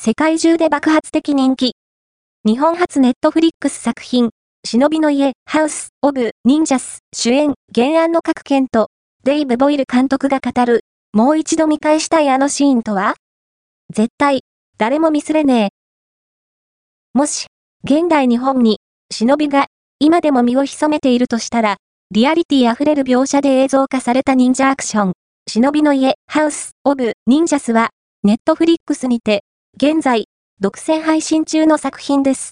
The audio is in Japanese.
世界中で爆発的人気。日本初ネットフリックス作品、忍びの家、ハウス・オブ・ニンジャス、主演、原案の各県と、デイブ・ボイル監督が語る、もう一度見返したいあのシーンとは？絶対、誰もミスれねえ。もし、現代日本に、忍びが、今でも身を潜めているとしたら、リアリティ溢れる描写で映像化された忍者アクション、忍びの家、ハウス・オブ・ニンジャスは、ネットフリックスにて、現在、独占配信中の作品です。